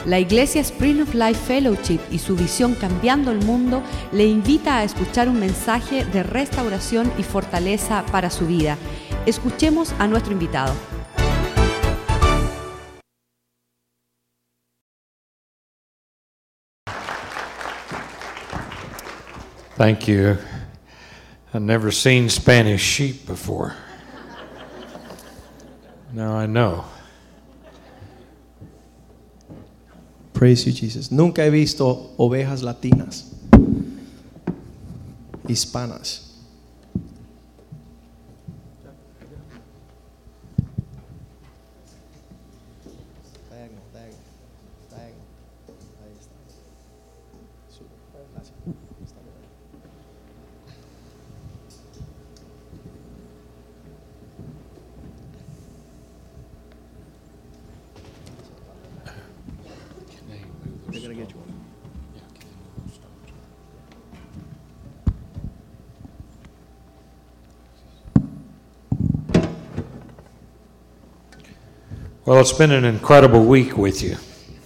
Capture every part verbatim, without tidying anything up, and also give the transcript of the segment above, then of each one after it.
La Iglesia Spring of Life Fellowship y su visión Cambiando el Mundo le invita a escuchar un mensaje de restauración y fortaleza para su vida. Escuchemos a nuestro invitado. Thank you. I've never seen Spanish sheep before. Now I know. Praise you, Jesus. Nunca he visto ovejas latinas, hispanas. Well, it's been an incredible week with you.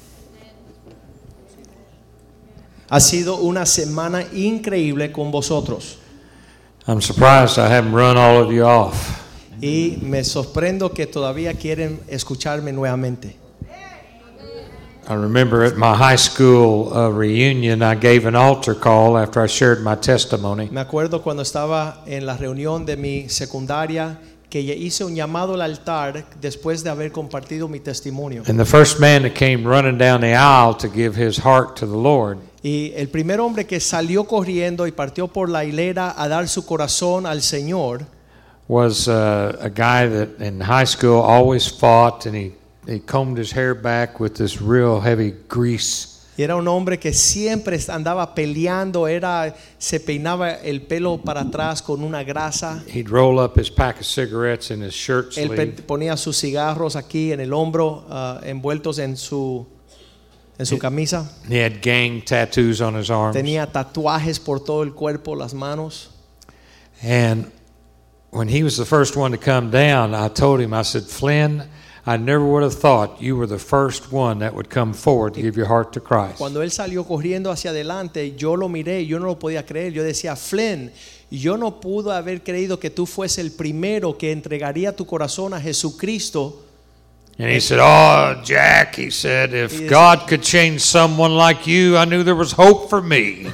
Ha sido una semana increíble con vosotros. I'm surprised I haven't run all of you off. Y me sorprendo que todavía quieren escucharme nuevamente. I remember at my high school uh, reunion, I gave an altar call after I shared my testimony. Me acuerdo cuando estaba en la reunión de mi secundaria que hice un llamado al altar después de haber compartido mi testimonio. And the first man that came running down the aisle to give his heart to the Lord Y el primer hombre que salió corriendo y partió por la hilera a dar su corazón al Señor was uh, a guy that in high school always fought, and he, he combed his hair back with this real heavy grease. y era un hombre que siempre andaba peleando, era se peinaba el pelo para atrás con una grasa. He'd roll up his pack of cigarettes in his shirt Él sleeve. pe- ponía sus cigarros aquí en el hombro, uh, envueltos en su en su camisa. He had gang tattoos on his arms. Tenía tatuajes por todo el cuerpo, las manos. And when he was the first one to come down, I told him, I said, Flynn, I never would have thought you were the first one that would come forward to give your heart to Christ. Cuando él salió corriendo hacia adelante, yo lo miré, yo no lo podía creer. Yo decía, Flynn, yo no pude haber creído que tú fuese el primero que entregaría tu corazón a Jesucristo. And he said, oh, Jack, he said, if God could change someone like you, I knew there was hope for me.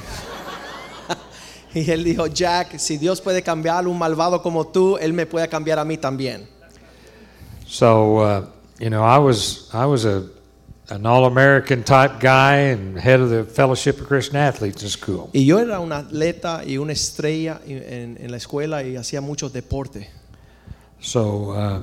Y él dijo, Jack, si Dios puede cambiar a un malvado como tú, él me puede cambiar a mí también. So, uh, you know, I was I was a an all-American type guy and head of the Fellowship of Christian Athletes in school. Y yo era un atleta y una estrella en, en la escuela y hacía muchos deportes. So, uh,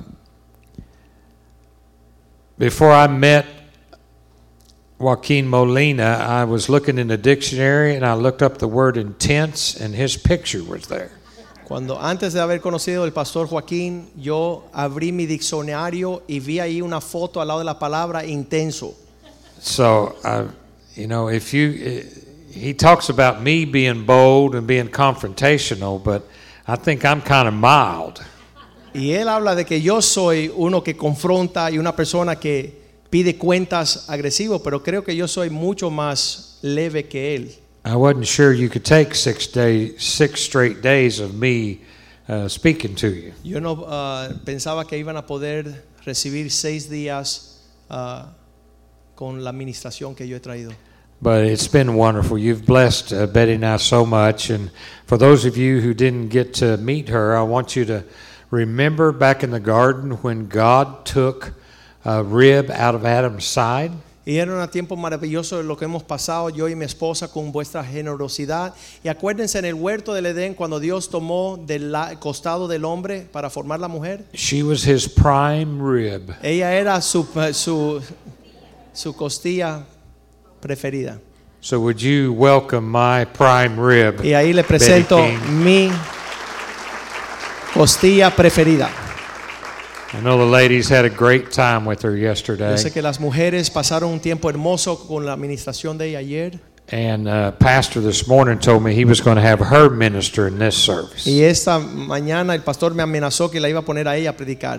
before I met Joaquin Molina, I was looking in the dictionary and I looked up the word intense, and his picture was there. Cuando antes de haber conocido al pastor Joaquín, yo abrí mi diccionario y vi ahí una foto al lado de la palabra intenso. So, uh, you know, if you, uh, he talks about me being bold and being confrontational, but I think I'm kind of mild. Y él habla de que yo soy uno que confronta y una persona que pide cuentas agresivo, pero creo que yo soy mucho más leve que él. I wasn't sure you could take six days, six straight days of me uh, speaking to you. Yo no uh, pensaba que iban a poder recibir seis días uh, con la administración que yo he traído. But it's been wonderful. You've blessed uh, Betty and I so much. And for those of you who didn't get to meet her, I want you to remember back in the garden when God took a rib out of Adam's side. Y era un tiempo maravilloso de lo que hemos pasado yo y mi esposa con vuestra generosidad. Y acuérdense en el huerto del Edén cuando Dios tomó del costado del hombre para formar la mujer. She was his prime rib. Ella era su, su, su costilla preferida. So would you welcome my prime rib? Y ahí le presento mi costilla preferida. I know the ladies had a great time with her yesterday. Yo sé que las mujeres pasaron un tiempo hermoso con la administración de ella ayer. And uh, pastor this morning told me he was going to have her minister in this service. Y esta mañana el pastor me amenazó que la iba a poner a ella a predicar.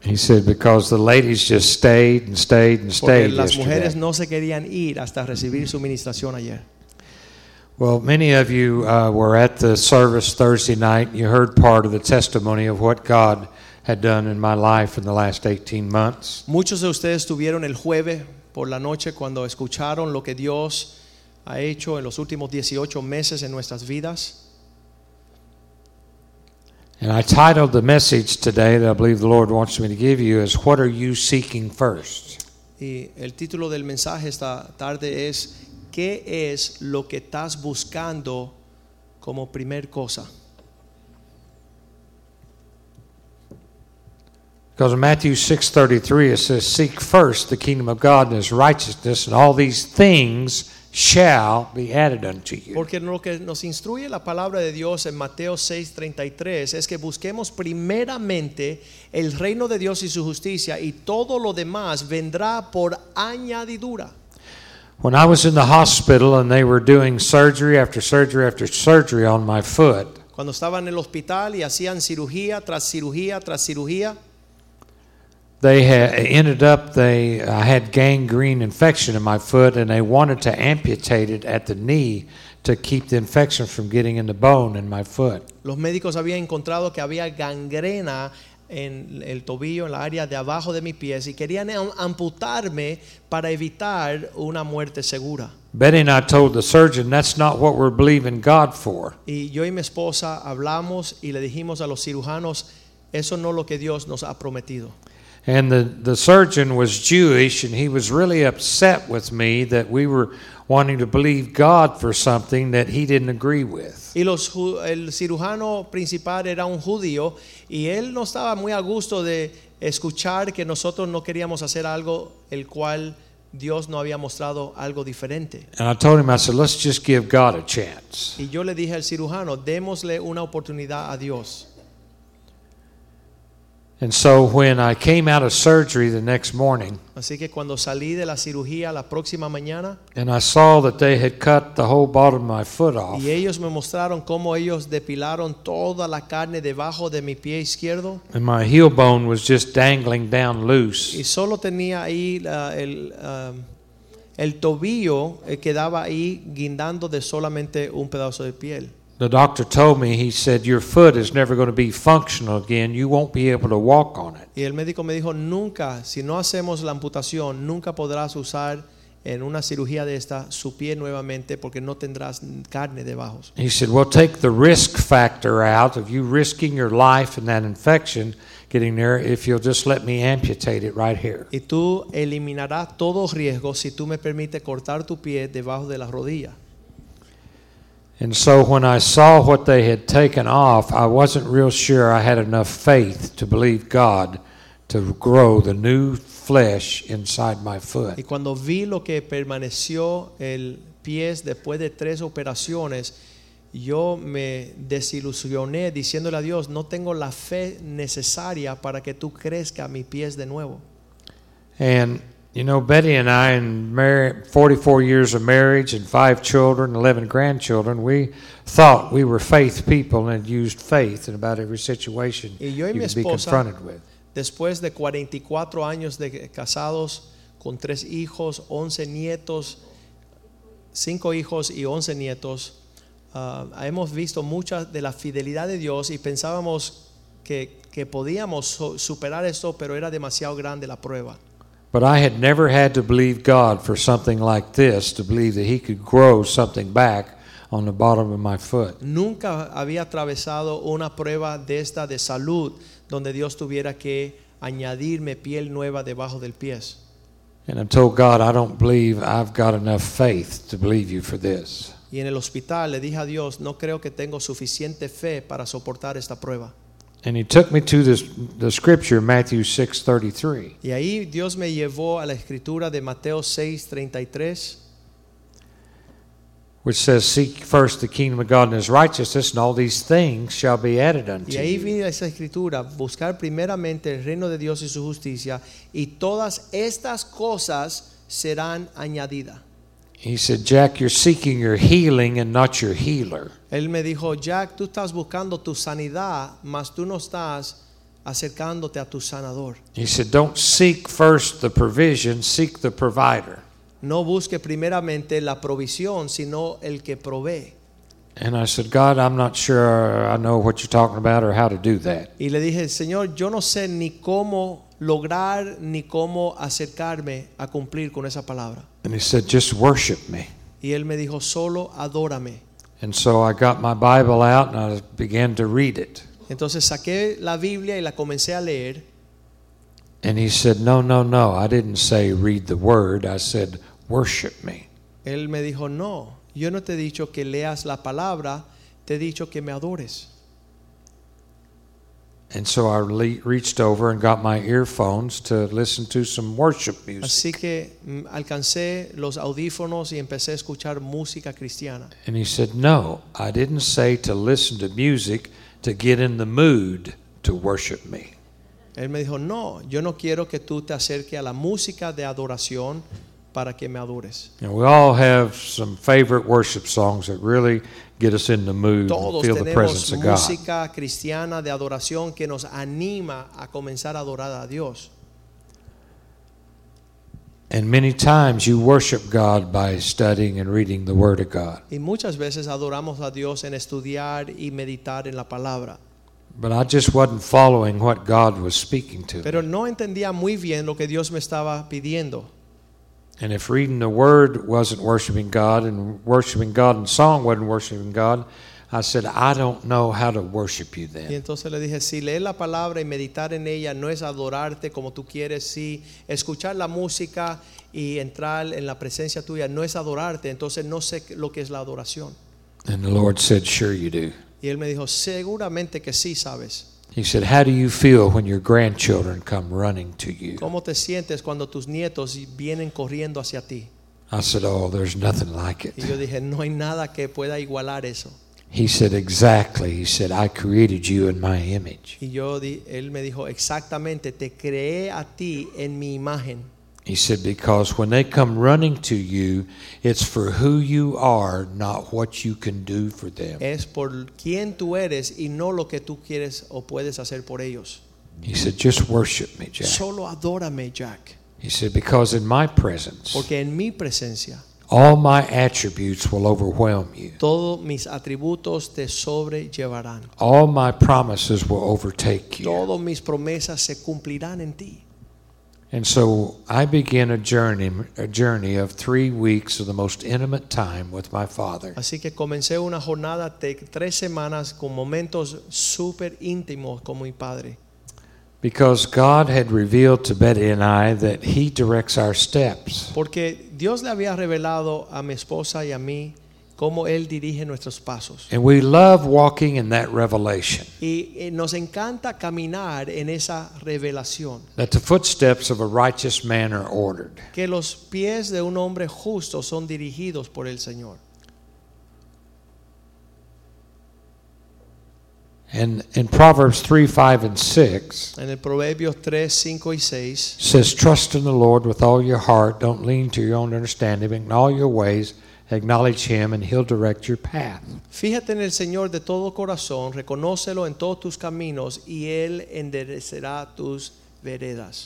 He said because the ladies just stayed and stayed and Porque stayed las mujeres yesterday. no se querían ir hasta recibir su ministración ayer. Well, many of you uh, were at the service Thursday night. You heard part of the testimony of what God had done in my life in the last eighteen months. Muchos de ustedes estuvieron el jueves por la noche cuando escucharon lo que Dios ha hecho en los últimos dieciocho meses en nuestras vidas. And I titled the message today that I believe the Lord wants me to give you is, What are you seeking first? Y el título del mensaje esta tarde es ¿qué es lo que estás buscando como primer cosa? Because in Matthew six thirty-three it says, Seek first the kingdom of God and His righteousness, and all these things shall be added unto you. Porque lo que nos instruye la palabra de Dios en Mateo seis treinta y tres es que busquemos primeramente el reino de Dios y su justicia, y todo lo demás vendrá por añadidura. When I was in the hospital and they were doing surgery after surgery after surgery on my foot, Cuando estaba en el hospital y hacían cirugía tras cirugía tras cirugía, they had ended up they I had gangrene infection in my foot, and they wanted to amputate it at the knee to keep the infection from getting in the bone in my foot. los médicos habían encontrado que había gangrena en el tobillo, en la área de abajo de mis pies, y querían amputarme para evitar una muerte segura. Betty and I told the surgeon that's not what we're believing God for. Y yo y mi esposa hablamos y le dijimos a los cirujanos, eso no es lo que Dios nos ha prometido. And the, the surgeon was Jewish, and he was really upset with me that we were wanting to believe God for something that he didn't agree with. Y los, el cirujano principal era un judío, y él no estaba muy a gusto de escuchar que nosotros no queríamos hacer algo el cual Dios no había mostrado algo diferente. And I told him, I said, let's just give God a chance. Y yo le dije al cirujano, démosle una oportunidad a Dios. And so when I came out of surgery the next morning, Así que cuando salí de la cirugía la próxima mañana, and I saw that they had cut the whole bottom of my foot off, y ellos me mostraron cómo ellos depilaron toda la carne debajo de mi pie izquierdo, and my heel bone was just dangling down loose. y solo tenía ahí uh, el, uh, el tobillo eh, quedaba ahí guindando de solamente un pedazo de piel. The doctor told me, he said, your foot is never going to be functional again. You won't be able to walk on it. Y el médico me dijo, nunca, si no hacemos la amputación, nunca podrás usar en una cirugía de esta su pie nuevamente, porque no tendrás carne debajo. He said, well, take the risk factor out of you risking your life and that infection getting there if you'll just let me amputate it right here. Y tú eliminarás todo riesgo si tú me permites cortar tu pie debajo de la rodilla. And so when I saw what they had taken off, I wasn't real sure I had enough faith to believe God to grow the new flesh inside my foot. Y cuando vi lo que permaneció el pie después de tres operaciones, yo me desilusioné diciéndole a Dios, no tengo la fe necesaria para que tú crezca mi pies de nuevo. And you know, Betty and I, in mar- forty-four years of marriage and five children, eleven grandchildren, we thought we were faith people and had used faith in about every situation Y yo y you mi could be esposa, confronted with. después de cuarenta y cuatro años de casados, con tres hijos, once nietos, cinco hijos y once nietos, uh, hemos visto mucha de la fidelidad de Dios, y pensábamos que, que podíamos so- superar esto, pero era demasiado grande la prueba. But I had never had to believe God for something like this, to believe that He could grow something back on the bottom of my foot. Nunca había atravesado una prueba de esta de salud donde Dios tuviera que añadirme piel nueva debajo del pie. And I told God, I don't believe I've got enough faith to believe you for this. Y en el hospital le dije a Dios, no creo que tengo suficiente fe para soportar esta prueba. And He took me to this, the scripture, Matthew six thirty-three. Y ahí Dios me llevó a la escritura de Mateo seis treinta y tres, which says, Seek first the kingdom of God and His righteousness, and all these things shall be added unto y ahí you. vi esa escritura, buscar primeramente el reino de Dios y su justicia, y todas estas cosas serán añadidas. He said, Jack, you're seeking your healing and not your healer. Él me dijo, Jack, tú estás buscando tu sanidad, mas tú no estás acercándote a tu sanador. He said, don't seek first the provision, seek the provider. No busque primeramente la provisión, sino el que provee. And I said, God, I'm not sure I know what you're talking about or how to do that. Y le dije, Señor, yo no sé ni cómo lograr ni cómo acercarme a cumplir con esa palabra. And he said, just worship me. Y él me dijo, solo adórame. And so I got my Bible out and I began to read it. Entonces saqué la Biblia y la comencé a leer. And he said, no, no, no, I didn't say read the word. I said, worship me. Él me dijo, no, yo no te he dicho que leas la palabra, te he dicho que me adores. And so I le- reached over and got my earphones to listen to some worship music. Así que mm, alcancé los audífonos y empecé a escuchar música cristiana. And he said, no, I didn't say to listen to music to get in the mood to worship me. Él me dijo, no, yo no quiero que tú te acerques a la música de adoración para que me adores. And we all have some favorite worship songs that really get us in the mood and Todos feel the tenemos presence of God. música cristiana de adoración que nos anima a comenzar a adorar a Dios. And many times you worship God by studying and reading the Word of God. Y muchas veces adoramos a Dios en estudiar y meditar en la palabra. But I just wasn't following what God was speaking to Pero me. no entendía muy bien lo que Dios me estaba pidiendo. And if reading the Word wasn't worshiping God and worshiping God in song wasn't worshiping God, I said, I don't know how to worship you Y then. entonces le dije, si leer la palabra y meditar en ella no es adorarte como tú quieres, si escuchar la música y entrar en la presencia tuya no es adorarte, entonces no sé lo que es la adoración. And the Lord said, sure you do. Y él me dijo, seguramente que sí sabes. He said, how do you feel when your grandchildren come running to you? ¿Cómo te sientes cuando tus nietos vienen corriendo hacia ti? I said, oh, there's nothing like it. Y yo dije, no hay nada que pueda igualar eso. He said, exactly. He said, I created you in my image. Y yo di, él me dijo, exactamente, te creé a ti en mi imagen. He said, because when they come running to you, it's for who you are, not what you can do for them. Es por quién tú eres y no lo que tú quieres o puedes hacer por ellos. He said, just worship me, Jack. Solo adórame, Jack. He said, because in my presence, Porque en mi presencia all my attributes will overwhelm you. todos mis atributos te sobrellevarán. All my promises will overtake you. Todas mis promesas se cumplirán en ti. And so I began a journey, a journey of three weeks of the most intimate time with my father. Así que comencé una jornada de tres semanas con momentos súper íntimos con mi padre. Because God had revealed to Betty and I that He directs our steps. Porque Dios le había revelado a mi esposa y a mí cómo Él dirige nuestros pasos. And we love walking in that revelation. Y eh, nos encanta caminar en esa revelación. That the footsteps of a righteous man are ordered. Que los pies de un hombre justo son dirigidos por el Señor. And in Proverbs three, five, and six, En el Proverbios tres, cinco y seis says, trust in the Lord with all your heart. Don't lean to your own understanding. But in all your ways, acknowledge Him, and He'll direct your path. Fíjate en el Señor de todo corazón, reconócelo en todos tus caminos y Él enderecerá tus veredas.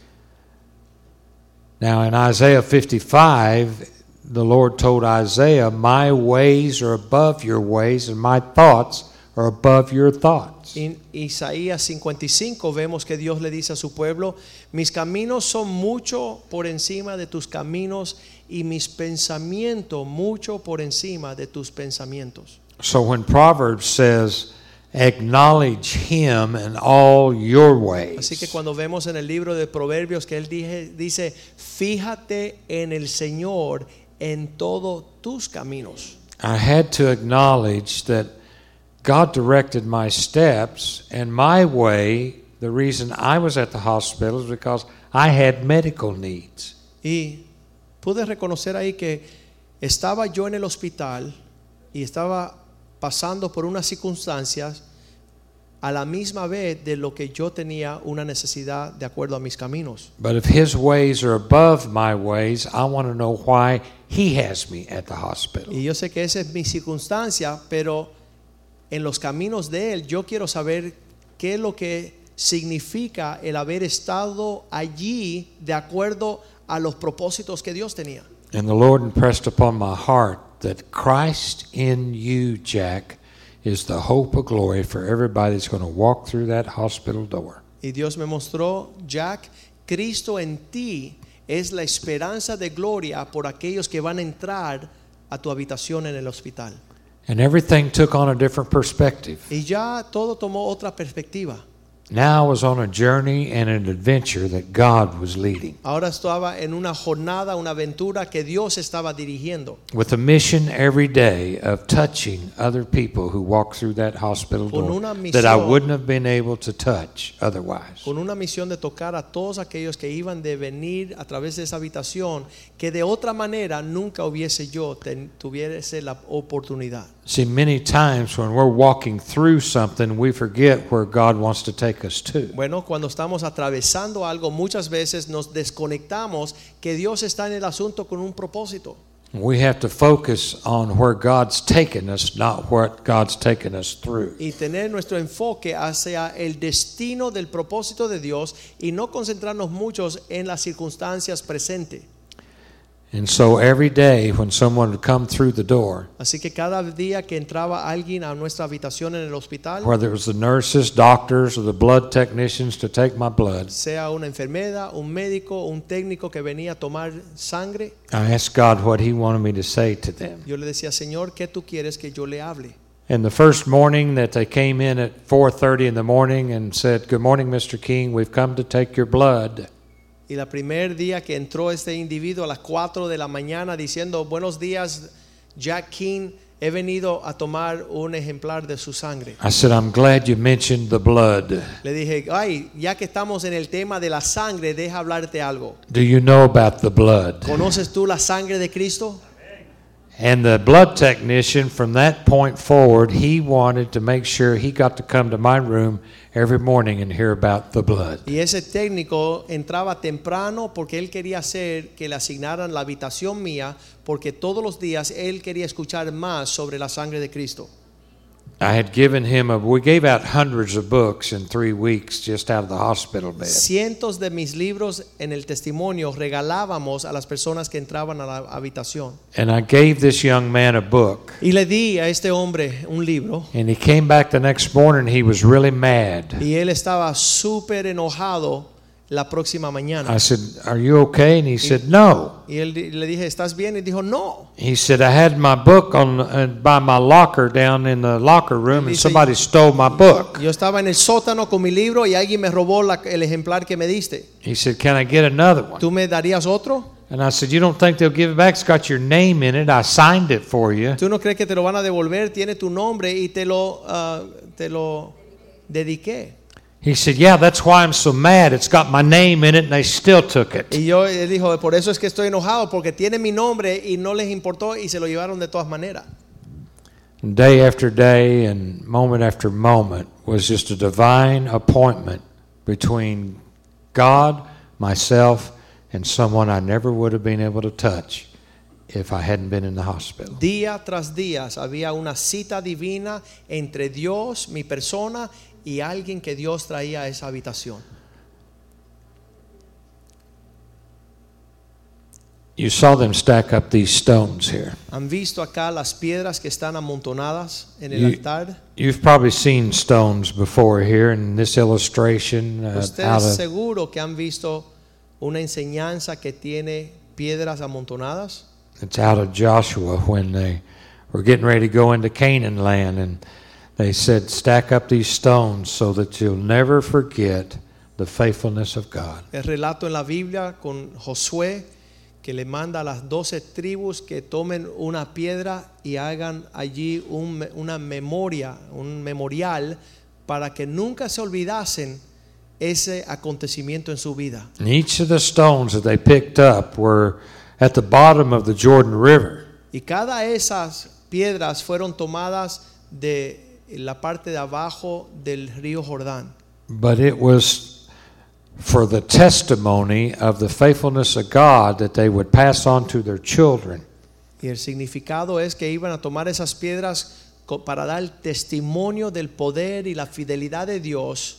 Now in Isaiah fifty-five, the Lord told Isaiah, my ways are above your ways, and my thoughts are above your thoughts. En Isaías cincuenta y cinco vemos que Dios le dice a su pueblo, mis caminos son mucho por encima de tus caminos y mis pensamientos mucho por encima de tus pensamientos. So when Proverbs says, acknowledge Him in all your ways, Así que cuando vemos en el libro de Proverbios que él dije, dice, fíjate en el Señor en todos tus caminos. I had to acknowledge that God directed my steps, and my way, the reason I was at the hospital is because I had medical needs. Y pude reconocer ahí que estaba yo en el hospital y estaba pasando por unas circunstancias a la misma vez de lo que yo tenía una necesidad de acuerdo a mis caminos. But if His ways are above my ways, I want to know why He has me at the hospital. Y yo sé que esa es mi circunstancia, pero en los caminos de Él yo quiero saber qué es lo que significa el haber estado allí de acuerdo a los propósitos que Dios tenía. And the Lord impressed upon my heart that Christ in you, Jack, is the hope of glory for everybody that's going to walk through that hospital door. Y Dios me mostró, Jack, Cristo en ti es la esperanza de gloria por aquellos que van a entrar a tu habitación en el hospital. And everything took on a different perspective. Y ya todo tomó otra perspectiva. Now I was on a journey and an adventure that God was leading, Ahora estaba en una jornada, una aventura que Dios estaba dirigiendo, with a mission every day of touching other people who walk through that hospital Con door una that I misión. wouldn't have been able to touch otherwise. con una misión de tocar a todos aquellos que iban de venir a través de esa habitación, que de otra manera nunca hubiese yo ten, tuviese la oportunidad. See, many times when we're walking through something, we forget where God wants to take us to. Bueno, cuando estamos atravesando algo, muchas veces nos desconectamos que Dios está en el asunto con un propósito. We have to focus on where God's taken us, not what God's taken us through. Y tener nuestro enfoque hacia el destino del propósito de Dios y no concentrarnos muchos en las circunstancias presentes. And so every day when someone would come through the door, Así que cada día que entraba alguien a nuestra habitación en el hospital, whether it was the nurses, doctors, or the blood technicians to take my blood, sea una enfermera, un médico, un técnico que venía a tomar sangre, I asked God what He wanted me to say to them. yo le decía, Señor, ¿qué tú quieres que yo le hable? And the first morning that they came in at four thirty in the morning and said, "Good morning, Mister King, we've come to take your blood." Y el primer día que entró este individuo a las cuatro de la mañana diciendo, buenos días, Jack King, he venido a tomar un ejemplar de su sangre. I said, "I'm glad you mentioned the blood. Le dije, ay, ya que estamos en el tema de la sangre, deja hablarte algo. Do you know about the blood?" ¿Conoces tú la sangre de Cristo? And the blood technician, from that point forward, he wanted to make sure he got to come to my room every morning and hear about the blood. Y ese técnico entraba temprano porque él quería hacer que le asignaran la habitación mía, porque todos los días él quería escuchar más sobre la sangre de Cristo. I had given him a, we gave out hundreds of books in three weeks just out of the hospital bed. Cientos de mis libros en el testimonio regalábamos a las personas que entraban a la habitación. And I gave this young man a book. Y le di a este hombre un libro. And he came back the next morning, he was really mad. Y él estaba súper enojado la próxima mañana. I said, "Are you okay?" And he said, "No." Y él le dije, ¿estás bien? Y dijo, no. He said, "I had my book on uh, by my locker down in the locker room, and Dice, somebody stole my book." Yo estaba en el sótano con mi libro y alguien me robó la, el ejemplar que me diste. He said, "Can I get another one?" ¿Tú me darías otro? And I said, "You don't think they'll give it back? It's got your name in it. I signed it for you." ¿Tú no crees que te lo van a devolver? Tiene tu nombre y te lo, uh, te lo dediqué. He said, "Yeah, that's why I'm so mad. It's got my name in it, and they still took it." Y yo él dijo, por eso es que estoy enojado, porque tiene mi nombre y no les importó y se lo llevaron de todas maneras. And day after day and moment after moment was just a divine appointment between God, myself, and someone I never would have been able to touch if I hadn't been in the hospital. Día tras día había una cita divina entre Dios, mi persona, y alguien que Dios traía a esa habitación. You saw them stack up these stones here. ¿Han visto acá las piedras que están amontonadas en el You- altar? You've probably seen stones before here in this illustration uh, out Ustedes of seguro que han visto una enseñanza que tiene piedras amontonadas. it's out of Joshua when they were getting ready to go into Canaan land, and they said, "Stack up these stones so that you'll never forget the faithfulness of God." El relato en la Biblia con Josué que le manda a las doce tribus que tomen una piedra y hagan allí un, una memoria, un memorial para que nunca se olvidasen ese acontecimiento en su vida. And each of the stones that they picked up were at the bottom of the Jordan River. Y cada esas piedras fueron tomadas de la parte de abajo del río Jordán. But it was for the testimony of the faithfulness of God that they would pass on to their children. Y el significado es que iban a tomar esas piedras co- para dar testimonio del poder y la fidelidad de Dios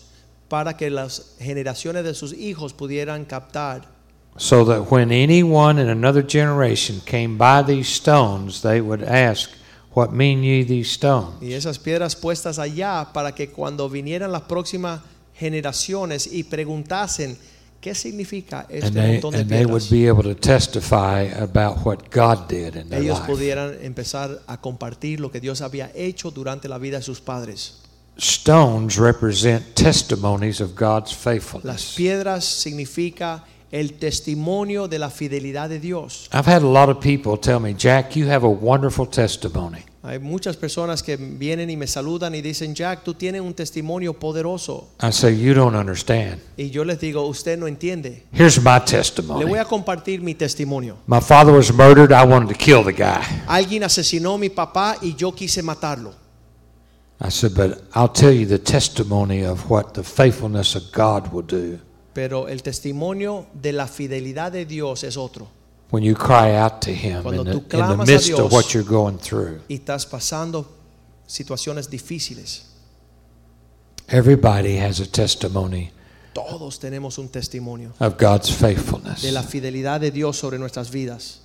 para que las generaciones de sus hijos pudieran captar. So that when anyone in another generation came by these stones, they would ask, "What mean ye these stones?" Y esas piedras puestas allá para que cuando vinieran las próximas generaciones y preguntasen qué significa este And they, montón de and they would piedras, be able to testify about what God did in their ellos life. pudieran empezar a compartir lo que Dios había hecho durante la vida de sus padres. Stones represent testimonies of God's Las faithfulness. piedras significa el testimonio de la fidelidad de Dios. I've had a lot of people tell me, "Jack, you have a wonderful testimony." Hay muchas personas que vienen y me saludan y dicen, Jack, tú tienes un testimonio poderoso. I say, "You don't understand. Y yo les digo, usted no entiende. Here's my Le testimony. voy a compartir mi testimonio. My father was murdered. I wanted to kill the guy." Alguien asesinó a mi papá y yo quise matarlo. I said, "But I'll tell you the testimony of what the faithfulness of God will do Pero el testimonio de la fidelidad de Dios es otro. when you cry out to Him Cuando in the, tú in the clamas a midst of Dios. what you're going through." Y estás pasando situaciones difíciles. Everybody has a testimony Todos tenemos un testimonio of God's faithfulness. de la fidelidad de Dios sobre nuestras vidas.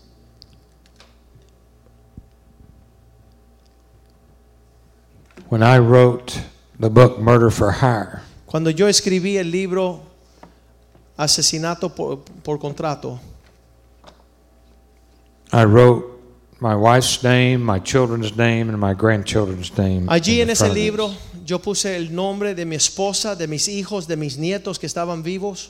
When I wrote the book Murder for Hire, Cuando yo escribí el libro Asesinato por, por contrato, I wrote my wife's name, my children's name, and my grandchildren's name. allí in en the ese front of it. libro yo puse el nombre de mi esposa, de mis hijos, de mis nietos que estaban vivos.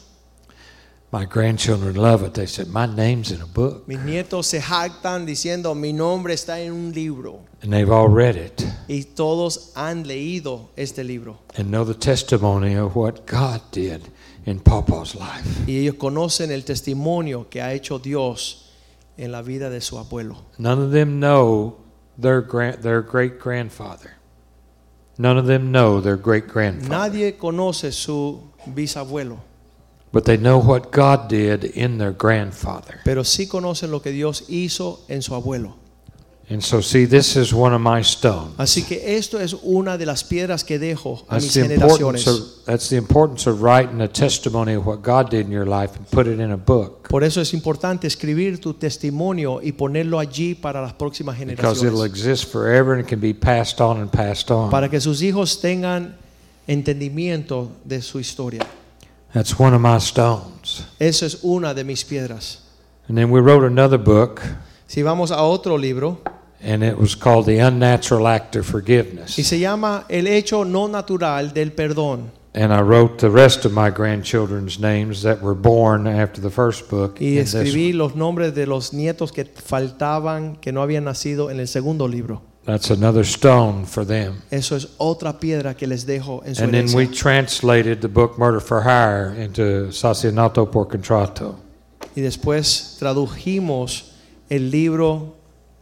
My grandchildren love it. They said, "My name's in a book." Mis nietos se jactan diciendo mi nombre está en un libro. And they've all read it Y todos han leído este libro. and know the testimony of what God did in Papa's life. Y ellos conocen el testimonio que ha hecho Dios en la vida de su abuelo. None of them know their grand, their great grandfather. None of them know their great grandfather. Nadie conoce su bisabuelo, But they know what God did in their grandfather. pero sí conocen lo que Dios hizo en su abuelo. And so, see, this is one of my stones. Así que esto es una de las piedras que dejo a That's mis the importance generaciones. of, that's the importance of writing a testimony of what God did in your life and put it in a book. Por eso es importante escribir tu testimonio y ponerlo allí para las próximas Because it'll generaciones, exist forever and it can be passed on and passed on. para que sus hijos tengan entendimiento de su historia. That's one of my stones. Eso es una de mis piedras. And then we wrote another book, Si vamos a otro libro, and it was called The Unnatural Act of Forgiveness. y se llama El hecho no natural del perdón. And I wrote the rest of my grandchildren's names that were born after the first book. Y in this escribí one. los nombres de los nietos que faltaban, que no habían nacido en el segundo libro. That's another stone for them. Eso es otra piedra que les dejo en su And then we herencia. translated the book Murder for Hire into Asesinato por Contrato. Y después tradujimos el libro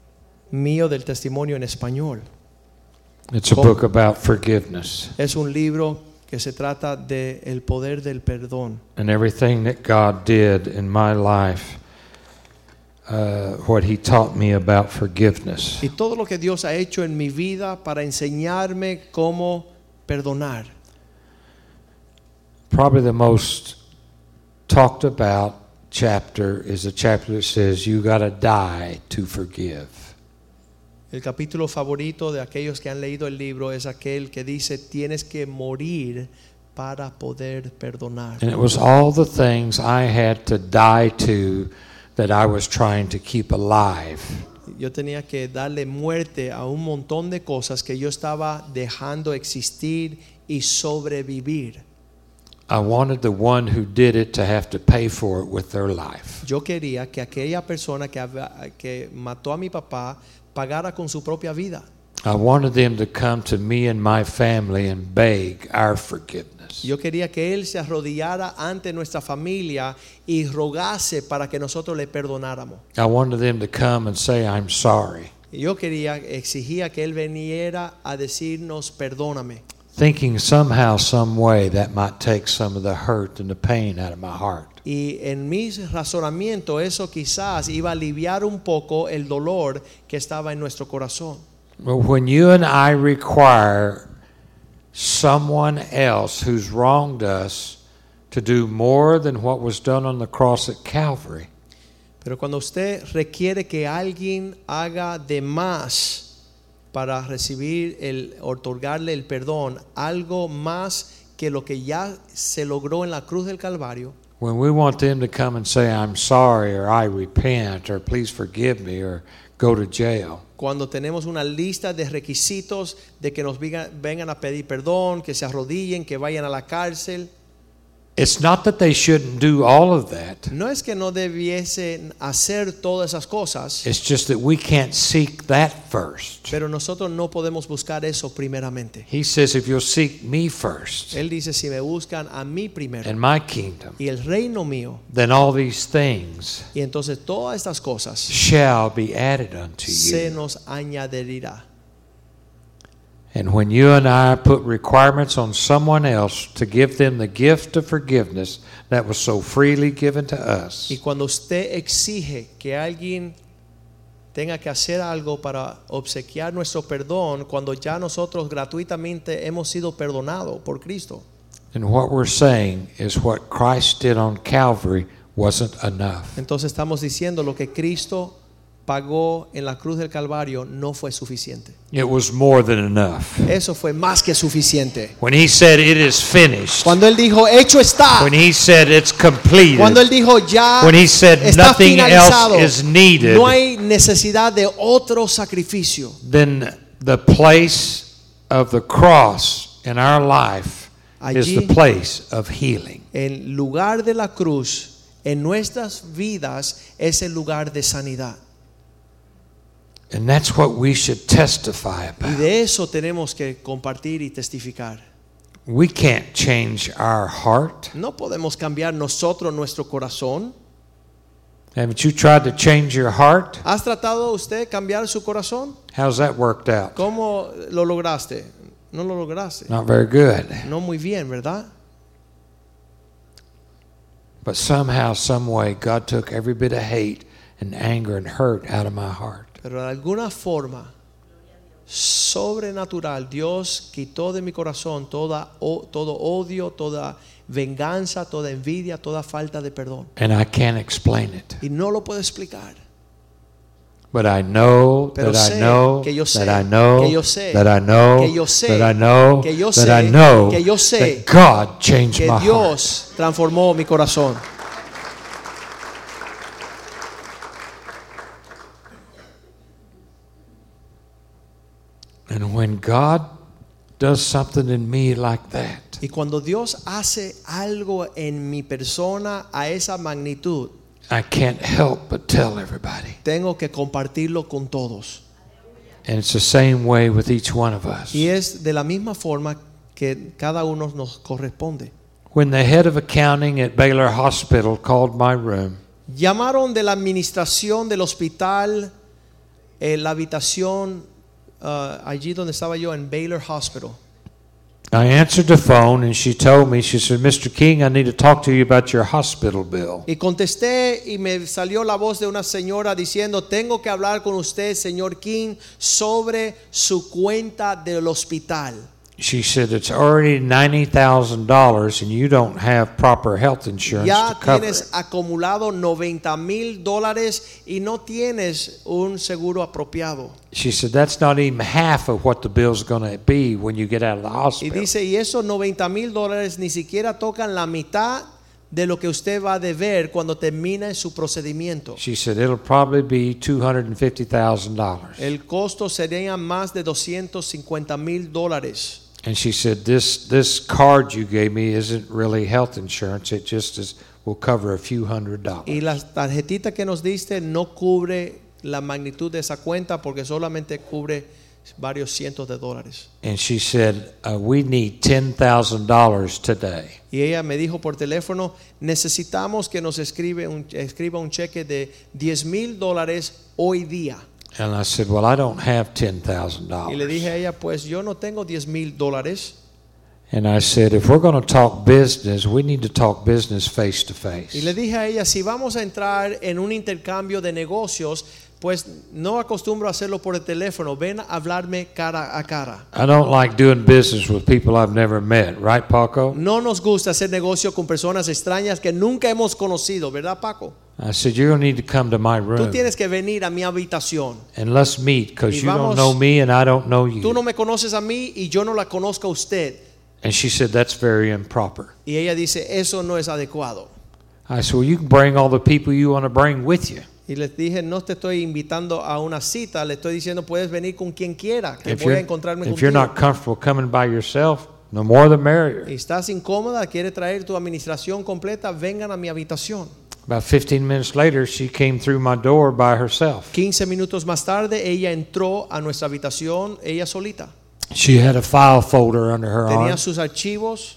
mío del testimonio en español. It's a ¿Cómo? book about forgiveness Es un libro que se trata de el poder del perdón and everything that God did in my life, uh, what He taught me about forgiveness. y todo lo que Dios ha hecho en mi vida para enseñarme cómo perdonar. Probably the most talked about chapter is a chapter that says you got to die to forgive. El capítulo favorito de aquellos que han leído el libro es aquel que dice tienes que morir para poder perdonar. And it was all the things I had to die to that I was trying to keep alive. Yo tenía que darle muerte a un montón de cosas que yo estaba dejando existir y sobrevivir. I wanted the one who did it to have to pay for it with their life. Yo quería que aquella persona que, había- que mató a mi papá pagara con su propia vida. I wanted them to come to me and my family and beg our forgiveness. Yo quería que él se arrodillara ante nuestra familia y rogase para que nosotros le perdonáramos. I wanted them to come and say, "I'm sorry," Yo quería, exigía que él viniera a decirnos perdóname, thinking somehow, some way that might take some of the hurt and the pain out of my heart. y en mi razonamiento eso quizás iba a aliviar un poco el dolor que estaba en nuestro corazón. But when you and I require someone else who's wronged us to do more than what was done on the cross at Calvary, Pero cuando usted requiere que alguien haga de más para recibir el otorgarle el perdón, algo más que lo que ya se logró en la cruz del Calvario, when we want them to come and say, I'm sorry, or I repent, or please forgive me, or go to jail, cuando tenemos una lista de requisitos de que nos vengan, vengan a pedir perdón, que se arrodillen, que vayan a la cárcel, it's not that they shouldn't do all of that. no es que no debiesen hacer todas esas cosas, It's just that we can't seek that first. pero nosotros no podemos buscar eso primeramente. He says, if you'll seek me first Él dice, si me buscan a mí primero and my kingdom, y el reino mío, then all these things y entonces todas estas cosas shall be added unto se you. nos añadirá. And when you and I put requirements on someone else to give them the gift of forgiveness that was so freely given to us, Y cuando usted exige que alguien tenga que hacer algo para obsequiar nuestro perdón, cuando ya nosotros gratuitamente hemos sido perdonados por Cristo, then what we're saying is what Christ did on Calvary wasn't enough. entonces estamos diciendo lo que Cristo pagó en la cruz del Calvario no fue suficiente. It was more than enough. Eso fue más que suficiente. When he said it is finished, Cuando Él dijo, hecho está, when he said it's completed, cuando Él dijo, ya when he said está nothing finalizado, else is needed, no hay necesidad de otro sacrificio, then the place of the cross in our life is Allí- the place of healing. el lugar de la cruz en nuestras vidas es el lugar de sanidad. And that's what we should testify Y about. de eso tenemos que compartir y testificar. We can't change our heart. No podemos cambiar nosotros nuestro corazón. Haven't you tried to change your heart? ¿Has tratado usted cambiar su corazón? How's that worked out? ¿Cómo lo lograste? No lo lograste. Not very good. No muy bien, ¿verdad? But somehow, some way, God took every bit of hate and anger and hurt out of my heart. Pero de alguna forma sobrenatural Dios quitó de mi corazón toda, o, todo odio, toda venganza, toda envidia, toda falta de perdón. And I can't explain it. Y no lo puedo explicar. But I know Pero that sé I know que yo sé, that I know que yo sé, that I know que yo sé, that I know que yo that sé, I know que yo sé that God changed Que my heart. Dios transformó mi corazón. And when God does something in me like that, Y cuando Dios hace algo en mi persona a esa magnitud, I can't help but tell everybody. tengo que compartirlo con todos. And it's the same way with each one of us. Y es de la misma forma que cada uno nos corresponde. When the head of accounting at Baylor Hospital called my room, Llamaron de la administración del hospital, eh, la habitación uh, allí donde estaba yo en Baylor Hospital. I answered the phone and she told me, she said, Mister King, I need to talk to you about your hospital bill. Y contesté y me salió la voz de una señora diciendo, tengo que hablar con usted, señor King, sobre su cuenta del hospital. She said, it's already ninety thousand dollars and you don't have proper health insurance Ya to cover tienes it. acumulado noventa mil dólares y no tienes un seguro apropiado. She said, that's not even half of what the bill's going to be when you get out of the Y hospital. dice, y esos noventa mil dólares ni siquiera tocan la mitad de lo que usted va a deber cuando termine su procedimiento. She said, it'll probably be two hundred fifty thousand dollars. El costo sería más de doscientos cincuenta mil dólares. And she said, this this card you gave me isn't really health insurance. It just is will cover a few hundred dollars. Y la tarjetita que nos diste no cubre la magnitud de esa cuenta porque solamente cubre varios cientos de dólares. And she said, uh, we need ten thousand dollars today. Y ella me dijo por teléfono, necesitamos que nos escribe un, escriba un cheque de diez mil dólares hoy día. And I said, well, I don't have ten thousand Y le dollars. dije a ella, pues yo no tengo diez mil dólares. And I said, if we're going to talk business, we need to talk business face to Y le face. dije a ella, si vamos a entrar en un intercambio de negocios, pues no acostumbro a hacerlo por el teléfono. Ven a hablarme cara a cara. I don't like doing business with people I've never met, right, Paco? No nos gusta hacer negocio con personas extrañas que nunca hemos conocido, ¿verdad, Paco? I said, you're going to need to come to my Tú room tienes que venir a mi habitación. and let's meet Y because you vamos- don't know me and I don't know Tú no you. me conoces a mí y yo no la conozco a usted. And she said, that's very improper. Y ella dice, eso no es adecuado. I said, well, you can bring all the people you want to bring with you. Y les dije, no te estoy invitando a una cita, le estoy diciendo, puedes venir con quien quiera, que If voy a you're, encontrarme if you're contigo. not comfortable coming by yourself, the more the merrier. Y estás incómoda, quieres traer tu administración completa, vengan a mi habitación. About fifteen minutes later, she came through my door by herself. quince minutos más tarde, ella entró a nuestra habitación, ella solita. She had a file folder under her Tenía arm, sus archivos,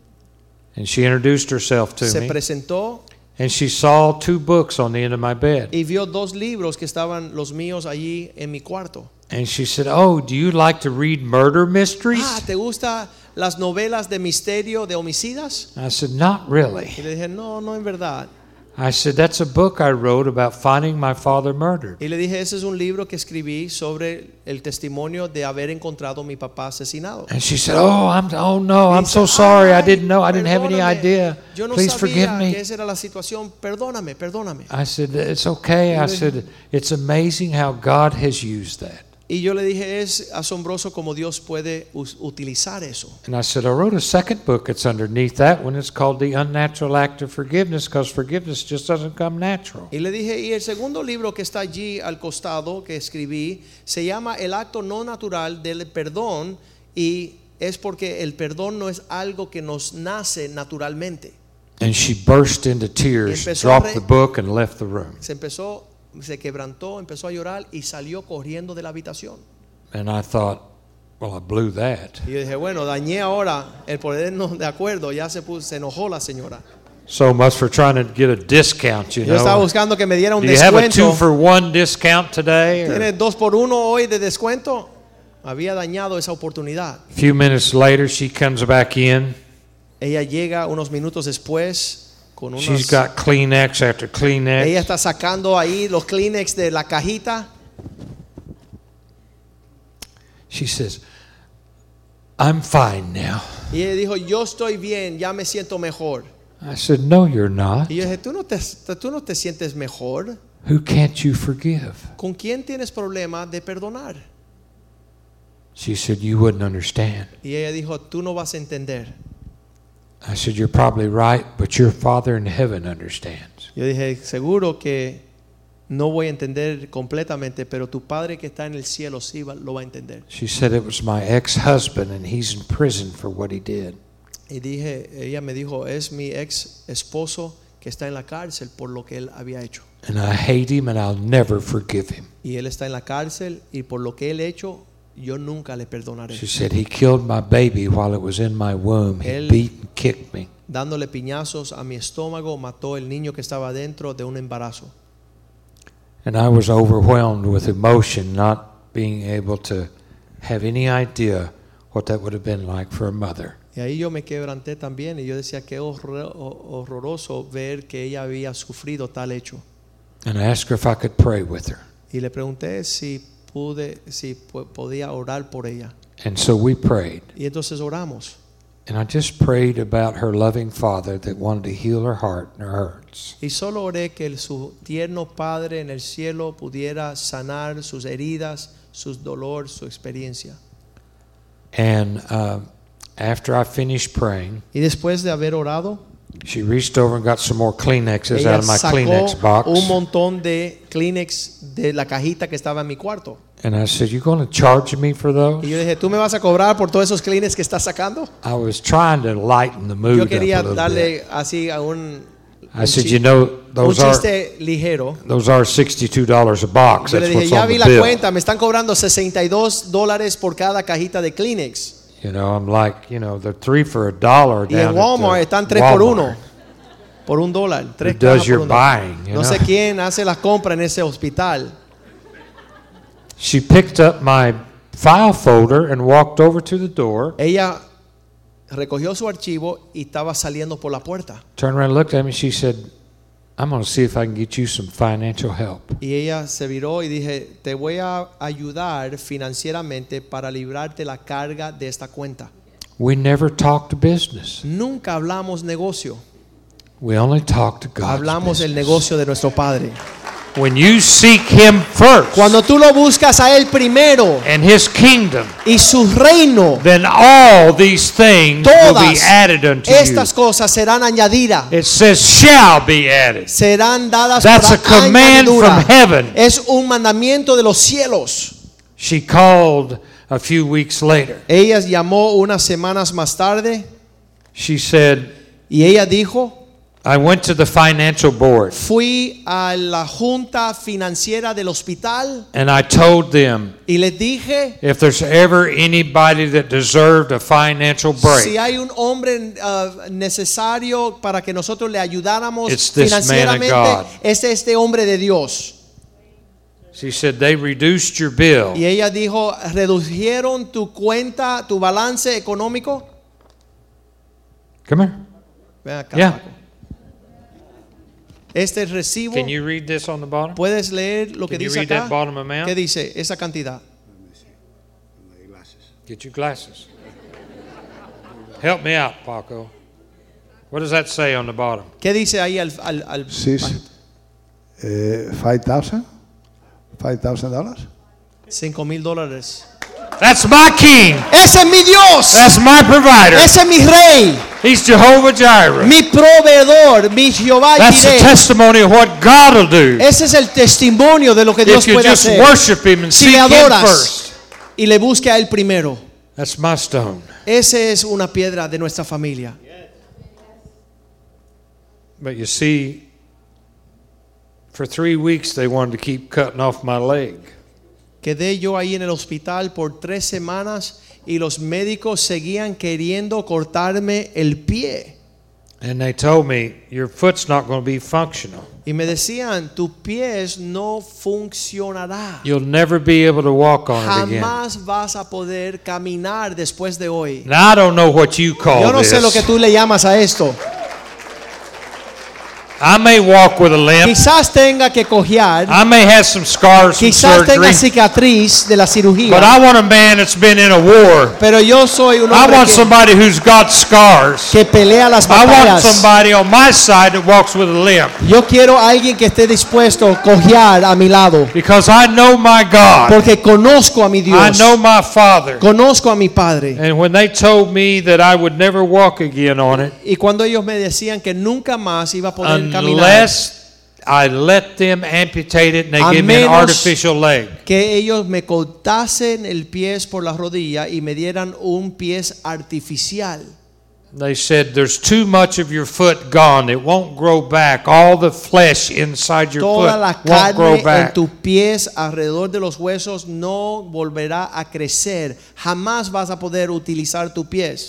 and she introduced herself to se me. presentó And she saw two books on the end of my bed. y vio dos libros que estaban los míos allí en mi cuarto. And she said, oh, do you like to read murder mysteries? Ah, ¿te gustan las novelas de misterio, de homicidas? I said, not really. Y le dije, no, no en verdad. I said, that's a book I wrote about finding my father murdered. Y le dije, ese es un libro que escribí sobre el testimonio de haber encontrado a mi papá asesinado. And she said, oh, I'm, oh no, Y I'm dice, so sorry. I "Ay, didn't know. I didn't have any perdóname. idea. Yo no Please forgive sabía me." que esa era la situación. Perdóname, perdóname. I said, it's okay. I Y le- said, it's amazing how God has used that. Y yo le dije, es asombroso cómo Dios puede us- utilizar eso. And I said, I wrote a second book that's underneath that one. It's called The Unnatural Act of Forgiveness, because forgiveness just doesn't come natural. Y le dije, y el segundo libro que está allí al costado que escribí se llama El acto no natural del perdón, y es porque el perdón no es algo que nos nace naturalmente. And she burst into tears, Y empezó a dropped re- the book, and left the room. Se empezó, se quebrantó, empezó a llorar y salió corriendo de la habitación. And I thought, well, I blew that. Y yo dije, bueno, dañé ahora el ponernos de acuerdo, ya se puso, se enojó la señora. So much for trying to get a discount, you Yo estaba know. buscando que me diera un Do you have a two descuento. for one discount today? or- ¿Tienes dos por uno hoy de descuento? Había dañado esa oportunidad. A few minutes later, she comes back in. Ella llega unos minutos después con unos. She's got Kleenex after Ella Kleenex. está sacando ahí los Kleenex de la cajita. She says, I'm fine now. Y ella dijo, yo estoy bien, ya me siento mejor. I said, no, you're not. Y yo dije, ¿tú no te, tú no te sientes mejor? Who can't you forgive? ¿Con quién tienes problema de perdonar? She said, you wouldn't understand. Y ella dijo, tú no vas a entender. I said, you're probably right, but your Father in heaven understands. Yo dije, seguro que no voy a entender completamente, pero tu padre que está en el cielo sí va- lo va a entender. She said, it was my ex-husband, and he's in prison for what he did. Y dije, ella me dijo, es mi ex esposo que está en la cárcel por lo que él había hecho. And I hate him, and I'll never forgive him. Y él está en la cárcel y por lo que él hecho, yo nunca le perdonaré. She said, he killed my baby while it was in my womb. He Él- beat and kicked me. Dándole piñazos a mi estómago, mató el niño que estaba dentro de un embarazo. And I was overwhelmed with emotion, not being able to have any idea what that would have been like for a mother. Y ahí yo me quebranté también y yo decía qué horror- horroroso ver que ella había sufrido tal hecho. And I asked her if I could pray with her. Y le pregunté si pude, si po- podía orar por ella. And so we prayed. Y entonces oramos. And I just prayed about her loving father that wanted to heal her heart and her hurts. Y solo oré que el- su tierno Padre en el cielo pudiera sanar sus heridas, sus dolores, su experiencia. And uh, after I finished praying, Y después de haber orado, she reached over and got some more Kleenexes ella out of my sacó Kleenex box. un montón de Kleenex de la cajita que estaba en mi cuarto. And I said, you going to charge me for those? Y yo dije, ¿tú me vas a cobrar por todos esos Kleenex que estás sacando? I was trying to lighten the mood Yo up a quería little bit. darle así a un, I un said, chi- you know, un those are chiste ligero. those are sixty-two dollars a box. Yo le That's dije, what's ya on vi the la bill. cuenta, me están cobrando sesenta y dos dólares por cada cajita de Kleenex. You know, I'm like, you know, they're three for a dollar Y down en Walmart at están the tres por Walmart. uno. Por un dólar. Tres Who does cajas por your un dólar. buying, you No sé know? quién hace las compras en ese hospital. She picked up my file folder and walked over to the door, Ella recogió su archivo y estaba saliendo por la puerta. turned around and looked at me. She said, I'm going to see if I can get you some financial help. Y ella se viró y dije, te voy a ayudar financieramente para librarte la carga de esta cuenta. We never talked business. Nunca hablamos negocio. We only talked to God's Hablamos del business. negocio de nuestro Padre. When you seek Him first Cuando tú lo buscas a Él primero and His kingdom, y su reino, then all these things will be todas added unto estas you. cosas serán añadidas. It says shall be added. Serán dadas That's a por command añadidura. from heaven. Es un mandamiento de los cielos. She called a few weeks later. Ella llamó unas semanas más tarde She said, y ella dijo, I went to the financial board fui a la junta financiera del hospital and I told them y les dije, if there's ever anybody that deserved a financial break, si hay un hombre uh, necesario para que nosotros le ayudáramos It's this man of financieramente, God. es este hombre de Dios. she said they reduced your bill. Y ella dijo, ¿redujeron tu cuenta, tu balance económico? Come here. Ven acá, Yeah. Paco. Este recibo, Can you read this on the bottom? ¿puedes leer lo que Can you dice read acá? that bottom amount? ¿Qué dice esa cantidad? Get your glasses. Help me out, Paco. What does that say on the bottom? ¿Qué dice ahí al, al, al Six, uh, five thousand, five thousand dollars. cinco mil dólares? That's my king. Ese es mi Dios. That's my provider. Ese es mi rey, He's Jehovah Jireh. mi proveedor, mi Jehová That's the Jireh. testimony of what God will do Ese es el testimonio de lo que Dios if you puede just hacer. worship Him and Si seek le Him adoras first. y le busque a Él primero. That's my stone. Ese es una piedra de nuestra familia. But you see, for three weeks they wanted to keep cutting off my leg. Quedé yo ahí en el hospital por tres semanas y los médicos seguían queriendo cortarme el pie. And they told me, your foot's not going to be functional. Y me decían, tu pies no funcionará. You'll never be able to walk on it again. Jamás vas a poder caminar después de hoy. Now, I don't know what you call Yo no sé lo que this. tú le llamas a esto. I may walk with a limp. Quizás tenga que cojear, I may have some scars from quizás tenga surgery. cicatriz de la But cirugía, I want a man that's been in a war. pero yo soy un I hombre want que, somebody who's got scars. que pelea las I want batallas. somebody on my side that walks with a limp. Yo quiero a alguien que esté dispuesto a cojear a mi lado, Because I know my God. porque conozco a mi I Dios, know my Father. conozco a mi Padre. And when they told me that I would never walk again on it Y cuando ellos me decían que nunca más iba a poder caminar, unless I let them amputate it and they A give me an menos- artificial leg. que ellos me cortasen el pie por la rodilla y me dieran un pie artificial. They said there's too much of your foot gone. It won't grow back. All the flesh inside your Toda la foot won't grow carne en back. tus pies alrededor de los huesos no volverá a crecer. Jamás vas a poder utilizar tus pies.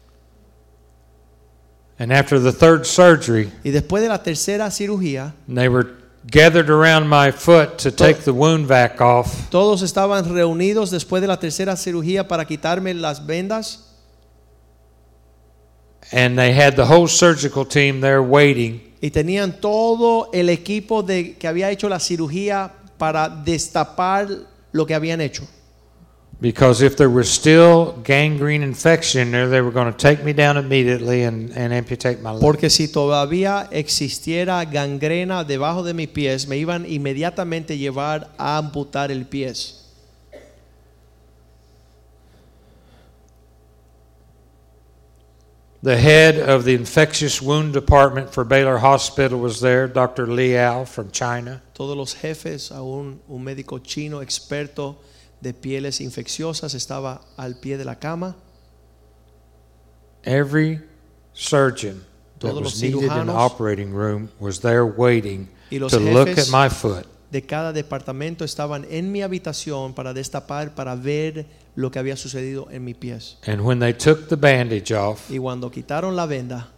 And after the third surgery, Y después de la tercera cirugía, they were gathered around my foot to take the wound vac off. todos estaban reunidos después de la tercera cirugía para quitarme las vendas. And they had the whole surgical team there waiting. Y tenían todo el equipo de, que había hecho la cirugía para destapar lo que habían hecho. Because if there was still gangrene infection in there, they were going to take me down immediately and, and amputate my leg. Porque si todavía existiera gangrena debajo de mis pies, me iban inmediatamente a llevar a amputar el pie. The head of the infectious wound department for Baylor Hospital was there, Doctor Liao from China. Todos los jefes, aún un médico chino experto de pieles infecciosas estaba al pie de la cama. Every surgeon that Todos los was needed in the cirujanos operating room was there waiting y los to look jefes at my foot. de cada departamento estaban en mi habitación para destapar, para ver lo que había sucedido en mis pies. And when they took the bandage off, Y cuando quitaron la venda,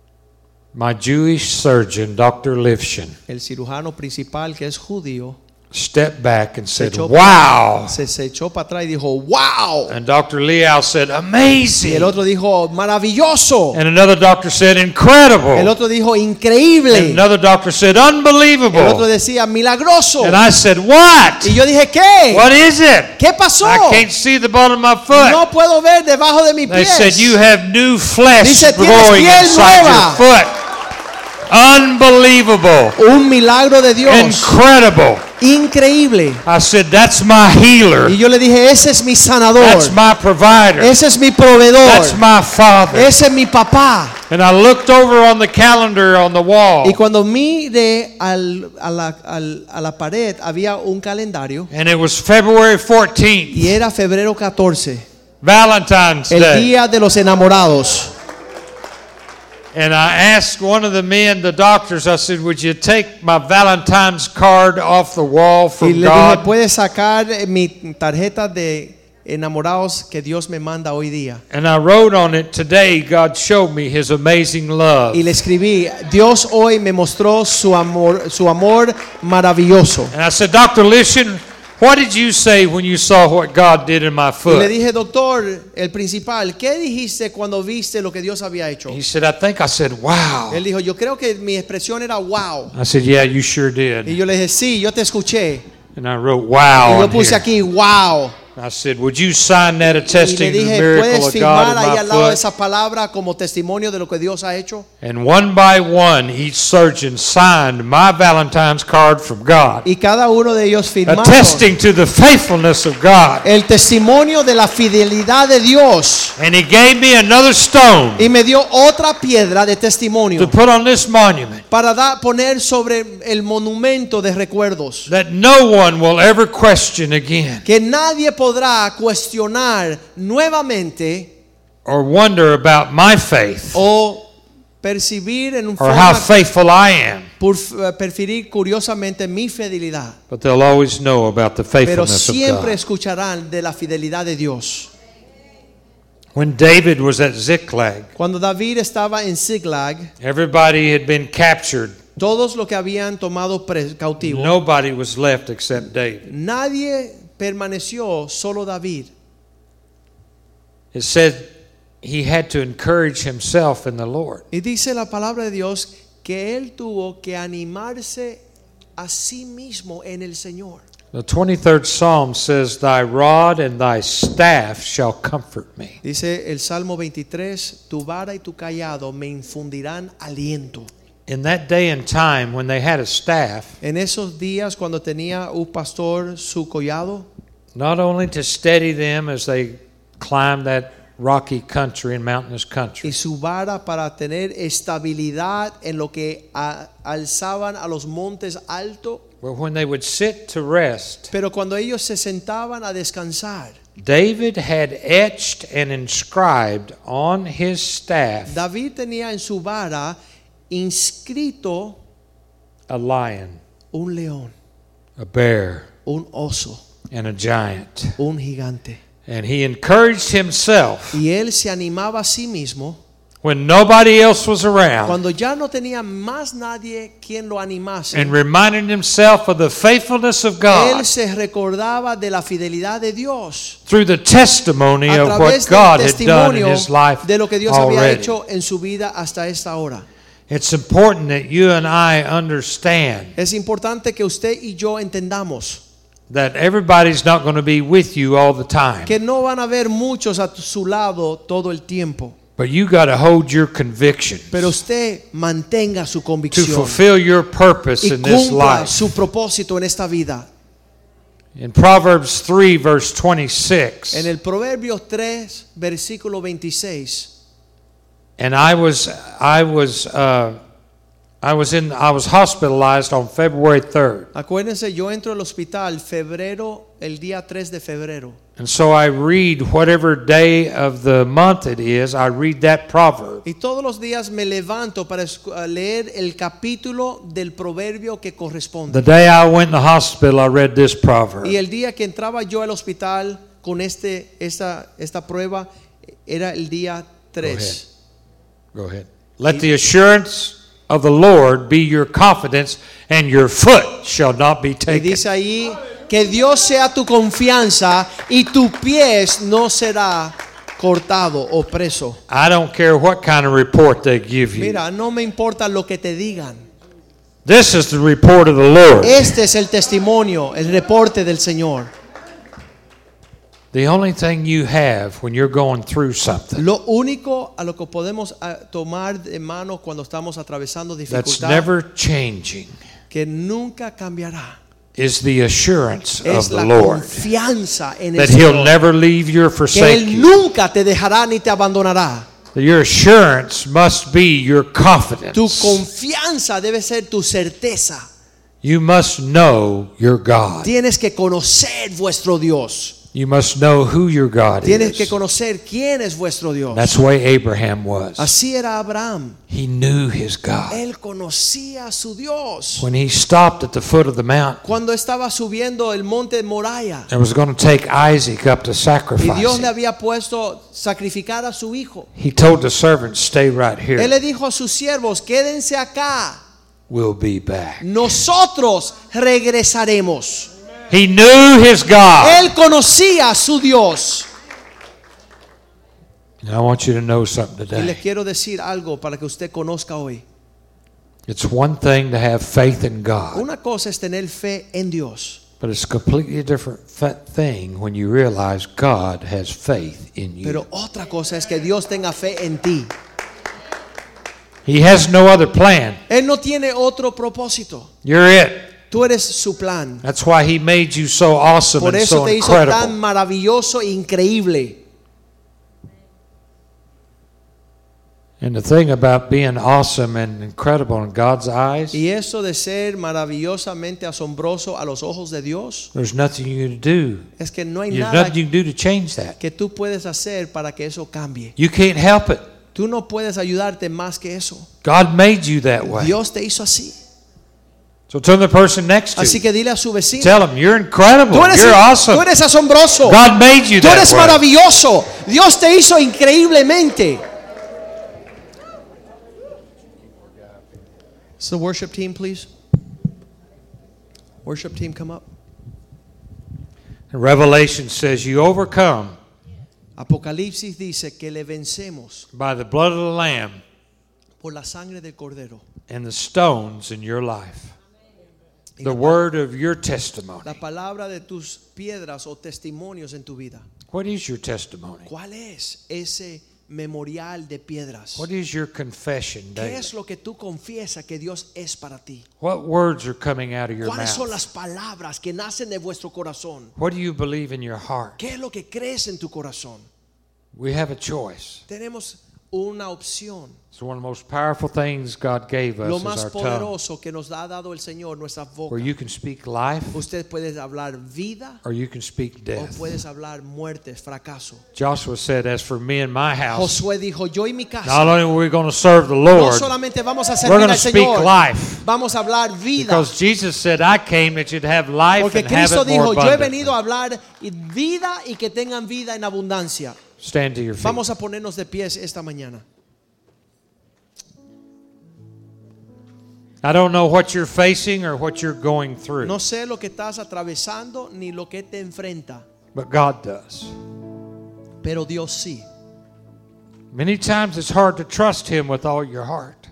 my Jewish surgeon, Doctor Lifshin, el cirujano principal, que es judío, stepped back and se said, echó, wow. se, se echó para atrás y dijo, wow. And Doctor Liao said, Y el amazing. otro dijo, maravilloso. And another doctor said, incredible. El otro dijo, And increíble. another doctor said, El otro unbelievable. decía, milagroso. And I said, what? Y yo dije, ¿qué? What is it? ¿Qué pasó? I can't see the bottom of my foot. No puedo ver debajo de mi They pies. said, you have new flesh Dice, "Tienes growing piel inside nueva." your foot. Unbelievable. Un milagro de Dios. Incredible. Increíble. I said, that's my healer. Y yo le dije, ese es mi sanador. That's my provider. Ese es mi proveedor. That's my father. Ese es mi papá. And I looked over on the calendar on the wall. Y cuando miré al, a, la, al, a la pared, había un calendario. And it was February fourteenth, Y era febrero catorce. Valentine's El Day. día de los enamorados. And I asked one of the men, the doctors, I said, would you take my Valentine's card off the wall Y from le dije, God? ¿puedes sacar mi tarjeta de enamorados que Dios me manda hoy día? And I wrote on it, today God showed me his amazing love. Y le escribí, Dios hoy me mostró su amor, su amor maravilloso. And I said, Doctor Lishan, what did you say when you saw what God did in my Y le foot? dije, doctor, el principal, ¿qué dijiste cuando viste lo que Dios había hecho? He said, I think I said, wow. Él dijo, yo creo que mi expresión era wow. I said, yeah, you sure Y did. yo le dije, sí, yo te escuché. And I wrote, Y wow yo on puse here. aquí, wow. I said, would you sign that Y le attesting to the dije, miracle ¿puedes of God firmar in ahí my al lado de foot? esa palabra como testimonio de lo que Dios ha hecho? And one by one, each surgeon signed my Valentine's card from God, Y cada uno de ellos firmaron attesting to the faithfulness of God. el testimonio de la fidelidad de Dios. And he gave me another stone Y me dio otra piedra de to testimonio put on this monument para da, poner sobre el monumento de recuerdos. that no one will ever question again Que nadie podrá cuestionar nuevamente or wonder about my faith o percibir en un or how forma, faithful I am. por, perferir curiosamente mi fidelidad. But they'll always know about the Pero faithfulness of siempre God. escucharán de la fidelidad de Dios. When David was at Ziklag, Cuando David estaba en Ziklag, everybody had been captured. todos los que habían tomado pres- cautivo, Nobody was left except David. nadie permaneció, solo David. It said he had to encourage himself in the Lord. Y dice la palabra de Dios que él tuvo que animarse a sí mismo en el Señor. The twenty-third Psalm says, thy rod and thy staff shall comfort me. Dice el Salmo veintitrés, tu vara y tu callado me infundirán aliento. In that day and time when they had a staff, En esos días cuando tenía un pastor su collado, not only to steady them as they climbed that rocky country and mountainous y country, su vara para tener estabilidad en lo que a- alzaban a los montes altos, but when they would sit to rest, pero cuando ellos se sentaban a descansar, David had etched and inscribed on his staff David tenía en su vara inscrito a lion, un león, a bear, un oso, and a giant. un gigante. And he encouraged himself Y él se animaba a sí mismo when nobody else was around cuando ya no tenía más nadie quien lo animase. and reminded himself of the faithfulness of God Él se recordaba de la fidelidad de Dios through the testimony a of través what del God had done in testimonio his life de lo que Dios había already. hecho en su vida hasta esta hora. It's important that you and I understand Es importante que usted y yo entendamos that everybody's not going to be with you all the time. que no van a haber muchos a su lado todo el tiempo, But you got to hold your convictions pero usted mantenga su to convicción fulfill your purpose y in this cumpla life. su propósito en esta vida. In Proverbs three, verse twenty-six, En el Proverbio tres, versículo veintiséis, and I was, I was, uh, I was in, I was hospitalized on February third, acuérdense, yo entro al hospital febrero, el día tres de febrero. and so I read whatever day of the month it is. I read that proverb, Y todos los días me levanto para escu- a leer el capítulo del proverbio que corresponde. the day I went in the hospital, I read this proverb. Y el día que entraba yo al hospital con este, esta, esta prueba era el día tres. Go ahead. Let the assurance of the Lord be your confidence, and your foot shall not be Y taken. dice ahí que Dios sea tu confianza y tu pies no será cortado o preso. I don't care what kind of report they give you. Mira, no me importa lo que te digan. This is the report of the Lord. Este es el testimonio, el reporte del Señor. The only thing you have when you're going through something Lo único a lo que podemos ah, tomar de mano cuando estamos atravesando that's dificultad never changing que nunca cambiará is the assurance es of la the Lord confianza en el that He'll Señor, never leave you or que forsake Él you. nunca te dejará ni te abandonará. Your assurance must be your confidence. Tu confianza debe ser tu certeza. You must know your God. Tienes que conocer vuestro Dios. You must know who your God Tienes que is. conocer quién es vuestro Dios. That's the way Abraham was. Así era Abraham. He knew his God. Él conocía a su Dios. When he stopped at the foot of the mountain Cuando estaba subiendo el monte Moriah and was going to take Isaac up to y sacrifice Dios le him, había puesto sacrificar a su hijo, he told the servants, stay right Él here. le dijo a sus siervos, quédense acá. We'll be back. Nosotros regresaremos. He knew his God. Él conocía a su Dios. And I want you to know something Y les today. quiero decir algo para que usted conozca hoy. It's one thing to have faith in God, Una cosa es tener fe en Dios, but it's a completely different fa- thing when you realize God has faith in you. pero otra cosa es que Dios tenga fe en ti. He has no other plan. Él no tiene otro propósito. You're it. Tú eres su plan. That's why he made you so awesome Por and eso so te hizo tan incredible. maravilloso e increíble. And the thing about being awesome and incredible in God's eyes, Y eso de ser maravillosamente asombroso a los ojos de Dios, there's nothing you can do. es que no hay There's nada nothing you can do to change that. que tú puedes hacer para que eso cambie. You can't help it. Tú no puedes ayudarte más que eso. God made you that way. Dios te hizo así. So tell the person next to Así you, que dile a su vecino, tell them, you're incredible. tú eres, You're tú awesome. eres asombroso. God made you Tú that eres way. maravilloso. Dios te hizo increíblemente. So worship team, please. Worship team, come up. And Revelation says you overcome Apocalipsis dice que le vencemos by the blood of the Lamb por la sangre del Cordero. and the stones in your life. Y The la, word of your testimony. la palabra de tus piedras o testimonios en tu vida. What is your testimony? ¿Cuál es ese memorial de piedras? What is your confession ¿Qué daily? es lo que tú confiesas que Dios es para ti? What words are coming out of your ¿Cuáles son mouth? las palabras que nacen de vuestro corazón? What do you believe in your heart? ¿Qué es lo que crees en tu corazón? We have a choice. Tenemos una opción. It's one of the most powerful things God gave Lo us is más our tongue, poderoso que nos ha dado el Señor, nuestra where boca. you can speak life Usted puede hablar vida or you can speak o death. puedes hablar muerte, fracaso. Joshua said, as for me and my house, Josué dijo, yo y mi not casa only are we going to serve the no Lord, solamente vamos a we're servir going to al speak Señor, life. vamos a hablar vida. Because Jesus said, I came that you'd have life Porque and have Cristo it more dijo, yo he abundantly. venido a hablar vida y que tengan vida en abundancia. Stand to your feet. Vamos a ponernos de pies esta mañana. I don't know what you're facing or what you're going through, No sé lo que estás atravesando ni lo que te enfrenta, but God does. pero Dios sí. Many times it's hard to trust Him with all your heart.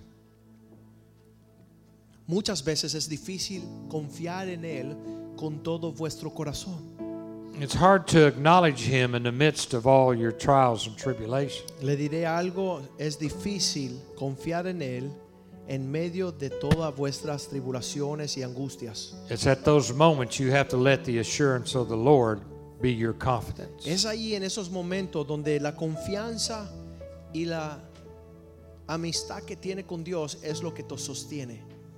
Muchas veces es difícil confiar en Él con todo vuestro corazón. It's hard to acknowledge Him in the midst of all your trials and tribulations. Le diré algo, es difícil confiar en Él en medio de todas vuestras tribulaciones y angustias. It's at those moments you have to let the assurance of the Lord be your confidence. Es ahí en esos momentos donde la confianza y la amistad que tiene con Dios es lo que te sostiene.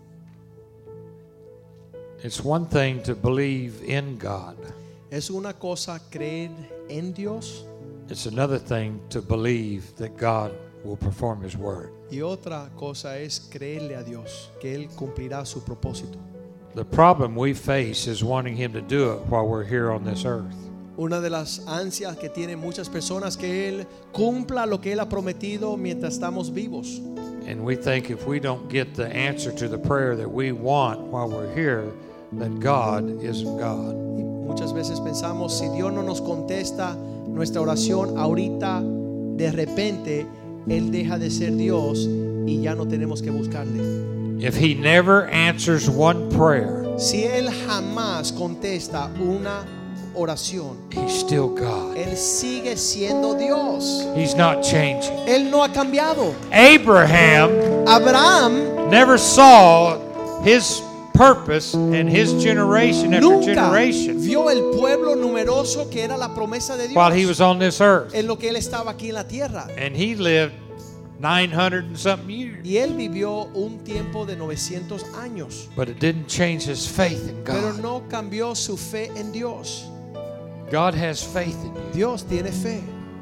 It's one thing to believe in God. Es una cosa creer en Dios It's another thing to believe that God will perform His word. y otra cosa es creerle a Dios que Él cumplirá su propósito. The problem we face is wanting Him to do it while we're here on this earth. Una de las ansias que tienen muchas personas que Él cumpla lo que Él ha prometido mientras estamos vivos. And we think if we don't get the answer to the prayer that we want while we're here, that God isn't God. Y muchas veces pensamos, si Dios no nos contesta nuestra oración ahorita, de repente Él deja de ser Dios y ya no tenemos que buscarle. If He never answers one prayer, Si Él jamás contesta una oración, He's still God. Él sigue siendo Dios. He's not changing. Él no ha cambiado. Abraham Abraham never saw his purpose and his generation after nunca generation vio el pueblo numeroso que era la promesa de Dios while he was on this earth. en lo que Él estaba aquí en la tierra. And he lived nine hundred and something years. Y Él vivió un tiempo de novecientos años, But it didn't change his faith in pero God. no cambió su fe en Dios. God has faith in you. Dios tiene fe.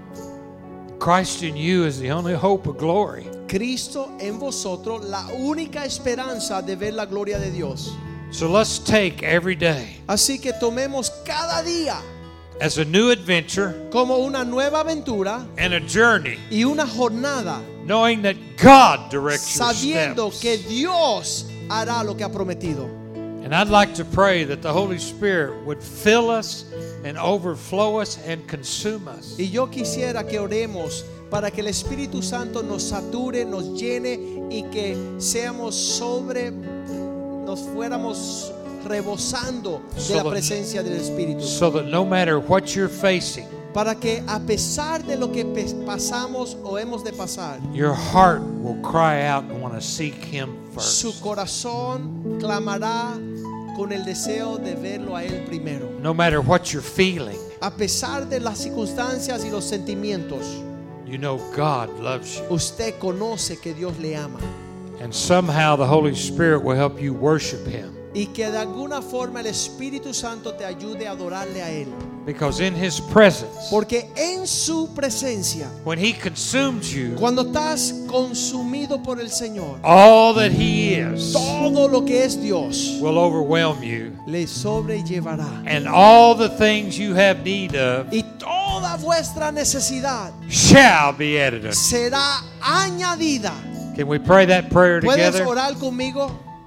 Christ in you is the only hope of glory. Cristo en vosotros, la única esperanza de ver la gloria de Dios. So let's take every day Así que tomemos cada día as a new adventure como una nueva aventura and a journey, y una jornada, knowing that God directs your sabiendo steps. que Dios hará lo que ha prometido. And I'd like to pray that the Holy Spirit would fill us and overflow us and consume us. Y yo quisiera que oremos para que el Espíritu Santo nos sature, nos llene y que seamos sobre, nos fuéramos rebosando de So la that- presencia del Espíritu. So that no matter what you're facing, Para que a pesar de lo que pe- pasamos o hemos de pasar, your heart will cry out and want to seek Him su first. corazón clamará con el deseo de verlo a Él primero. No matter what you're feeling, A pesar de las circunstancias y los sentimientos, you know God loves you. usted conoce que Dios le ama And somehow the Holy Spirit will help you worship Him. y que de alguna forma el Espíritu Santo te ayude a adorarle a Él. Because in His presence, Porque en su presencia, when He consumes you, cuando estás consumido por el Señor, all that He is todo lo que es Dios will overwhelm you. le sobrellevará. And all the things you have need of Y toda vuestra necesidad shall be added unto you. será añadida. Can we pray that prayer ¿Puedes together? orar conmigo?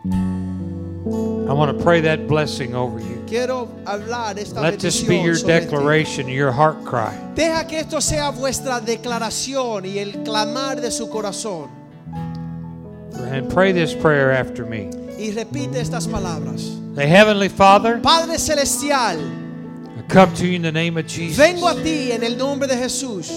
I want to pray that blessing over you. Quiero hablar esta Let this be your bendición sobre ti. declaration, your heart cry. Deja que esto sea vuestra declaración y el clamar de su corazón. And pray this prayer after me. Y repite estas palabras. The Heavenly Father, Padre Celestial, I come to you in the name of Jesus. vengo a ti en el nombre de Jesús.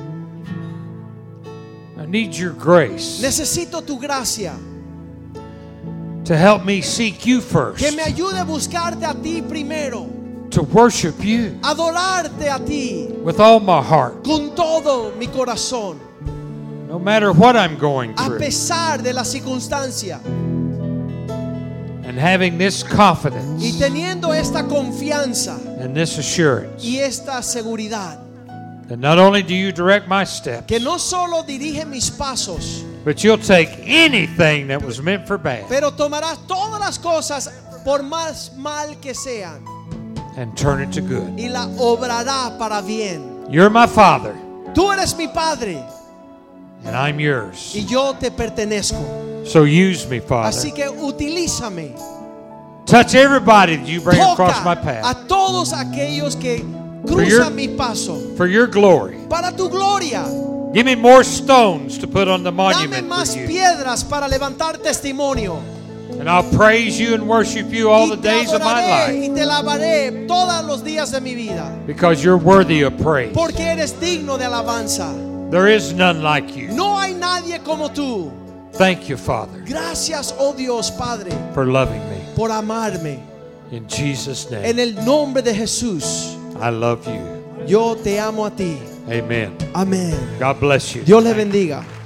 I need your grace Necesito tu gracia. to help me seek you first, Que me ayude a buscarte a ti primero. to worship you Adorarte a ti with all my heart, con todo mi corazón. no matter what I'm going A through. pesar de la circunstancia. And having this confidence Y teniendo esta confianza and this assurance y esta seguridad. that not only do you direct my steps, Que no solo dirige mis pasos, but you'll take anything that was meant for bad pero tomarás todas las cosas por más mal que sean and turn it to good. y la obrará para bien. You're my Father, Tú eres mi Padre and I'm yours. y yo te pertenezco. So use me, Father. Así que utilízame. Touch everybody that you bring across my Toca path a todos aquellos que For your- cruzan mi paso for your glory. para tu gloria. Give me more stones to put on the Dame monument más for you. piedras para levantar testimonio. And I'll praise you and worship you all Y the te days of my adoraré life y te alabaré todos los días de mi vida. because you're worthy of praise. Porque eres digno de alabanza. There is none like you. No hay nadie como tú. Thank you, Father, Gracias, oh Dios Padre, for loving me. por amarme. In Jesus' En name, el nombre de Jesús, I love you. yo te amo a ti. Amen. Amén. God bless you. Dios le bendiga.